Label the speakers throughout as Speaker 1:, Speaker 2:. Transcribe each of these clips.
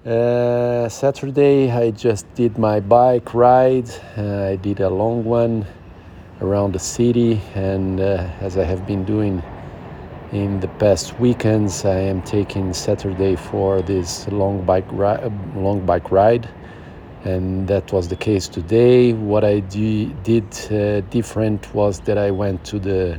Speaker 1: Saturday, I just did my bike ride. I did a long one around the city, and as I have been doing in the past weekends, I am taking Saturday for this long bike ride, and that was the case today. What I did different was that I went to the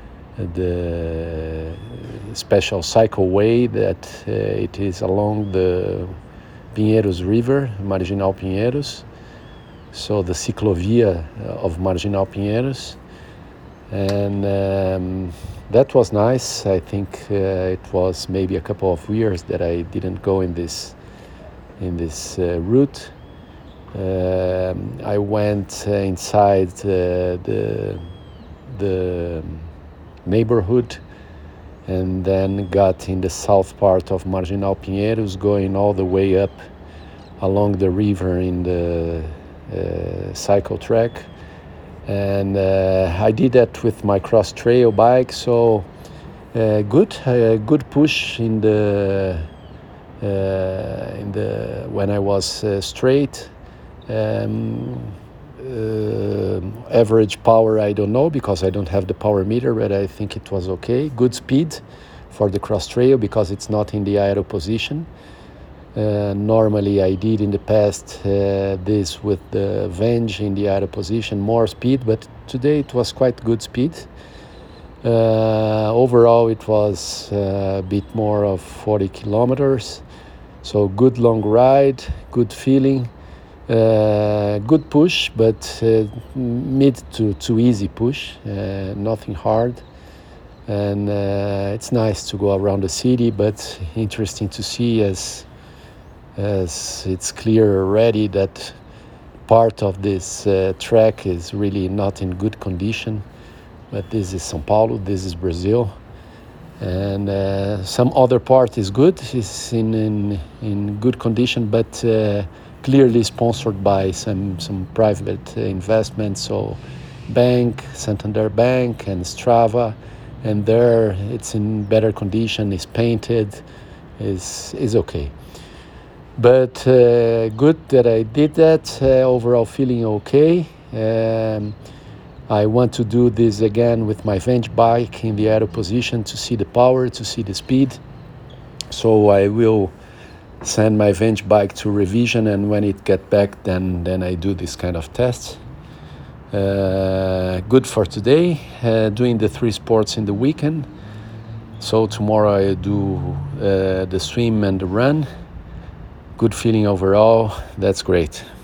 Speaker 1: special cycleway that it is along the Pinheiros River, Marginal Pinheiros, so the ciclovia of Marginal Pinheiros, and that was nice. I think it was maybe a couple of years that I didn't go in this route. I went inside the neighborhood, and then got in the south part of Marginal Pinheiros, going all the way up along the river in the cycle track. And I did that with my cross trail bike, so good push in the when I was straight. Average power, I don't know, because I don't have the power meter, but I think it was okay. Good speed for the cross trail because it's not in the aero position. Normally I did in the past this with the Venge in the aero position, more speed, but today it was quite good speed. Overall it was a bit more of 40 kilometers, so good long ride, good feeling. Good push, but mid to easy push, nothing hard. And it's nice to go around the city, but interesting to see as it's clear already that part of this track is really not in good condition. But this is São Paulo, this is Brazil. And some other part is good, is in good condition, but clearly sponsored by some private investments, so Bank, Santander Bank and Strava, and there it's in better condition, is painted, is okay. But good that I did that, overall feeling okay. I want to do this again with my Venge bike in the aero position to see the power, to see the speed. So I will send my Venge bike to revision, and when it get back, then I do this kind of tests. Good for today, doing the 3 sports in the weekend. So tomorrow I do the swim and the run. Good feeling overall, that's great.